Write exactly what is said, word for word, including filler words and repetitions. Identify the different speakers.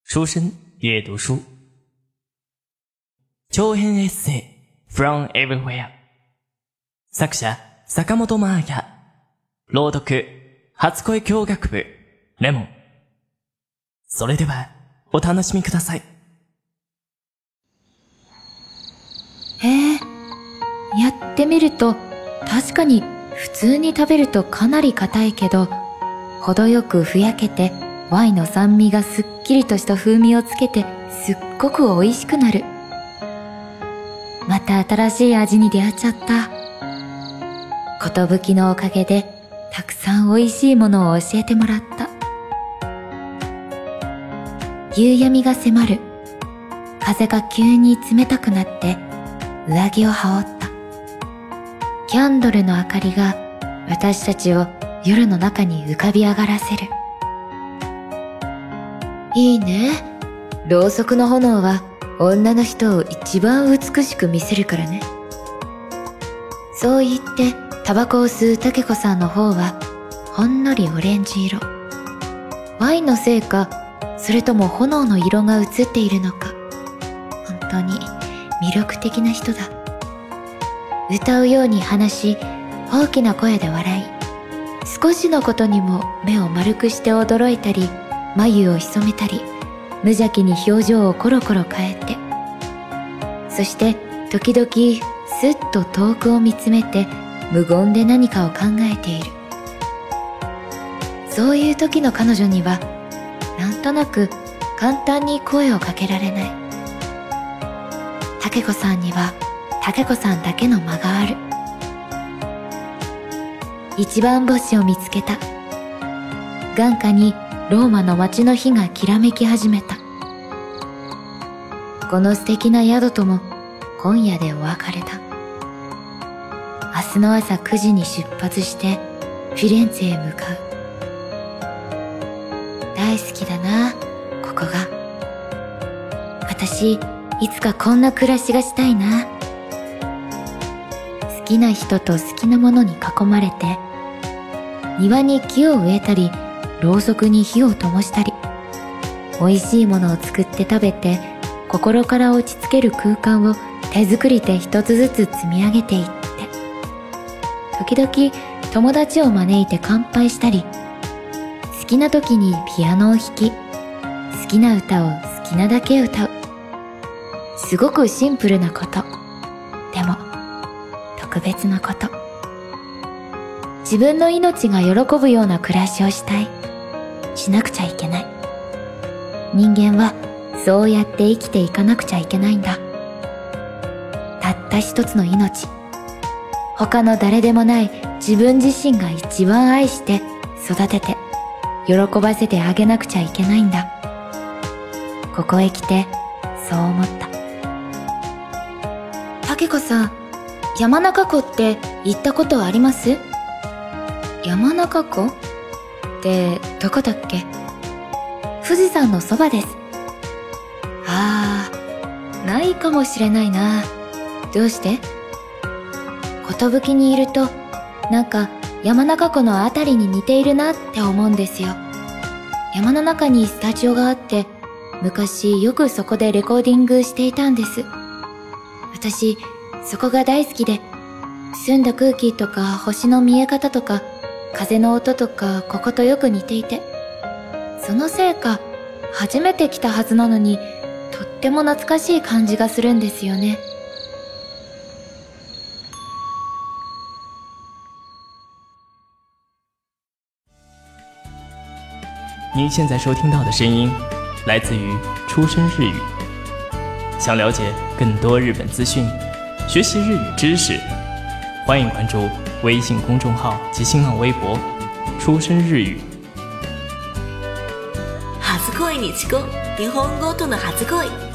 Speaker 1: 书生阅读书長編エッセイ From Everywhere 作者坂本真綾朗読初恋教学部レモンそれではお楽しみください。
Speaker 2: へえ、やってみると確かに普通に食べるとかなり硬いけど程よくふやけてワインの酸味がすっきりとした風味をつけてすっごく美味しくなる。また新しい味に出会っちゃった。ことぶきのおかげでたくさん美味しいものを教えてもらった。夕闇が迫る。風が急に冷たくなって上着を羽織った。キャンドルの明かりが私たちを夜の中に浮かび上がらせる。いいね。ろうそくの炎は女の人を一番美しく見せるからね。そう言ってタバコを吸うタケコさんの方はほんのりオレンジ色。ワインのせいか、それとも炎の色が映っているのか。本当に魅力的な人だ。歌うように話し、大きな声で笑い、少しのことにも目を丸くして驚いたり、眉を潜めたり、無邪気に表情をコロコロ変えて、そして時々すっと遠くを見つめて無言で何かを考えている。そういう時の彼女にはなんとなく簡単に声をかけられない。タケコさんにはタケコさんだけの間がある。一番星を見つけた。眼下にローマの街の火がきらめき始めた。この素敵な宿とも今夜でお別れだ。明日の朝くじに出発してフィレンツェへ向かう。大好きだな、ここが。私、いつかこんな暮らしがしたいな。好きな人と好きなものに囲まれて、庭に木を植えたり、ろうそくに火を灯したり、美味しいものを作って食べて、心から落ち着ける空間を手作りで一つずつ積み上げていって、時々友達を招いて乾杯したり、好きな時にピアノを弾き、好きな歌を好きなだけ歌う。すごくシンプルなこと。でも、特別なこと。自分の命が喜ぶような暮らしをしたい。しなくちゃいけない。人間はそうやって生きていかなくちゃいけないんだ。たった一つの命。他の誰でもない自分自身が一番愛して育てて喜ばせてあげなくちゃいけないんだ。ここへ来てそう思った。タケコさん、山中湖って行ったことあります？山中湖ってどこだっけ？富士山のそばです。ああ、ないかもしれないな。どうして？寿にいると、なんか山中湖のあたりに似ているなって思うんですよ。山の中にスタジオがあって、昔よくそこでレコーディングしていたんです。私、そこが大好きで、澄んだ空気とか星の見え方とか、風の音とかこことよく似ていて、そのせいか初めて来たはずなのにとっても懐かしい感じがするんですよね。
Speaker 1: 您现在收听到的声音来自于出生日语。想了解更多日本资讯，学习日语知识，欢迎关注微信公众号及新浪微博出生日语。
Speaker 3: 初恋にちこ、日本語との初恋。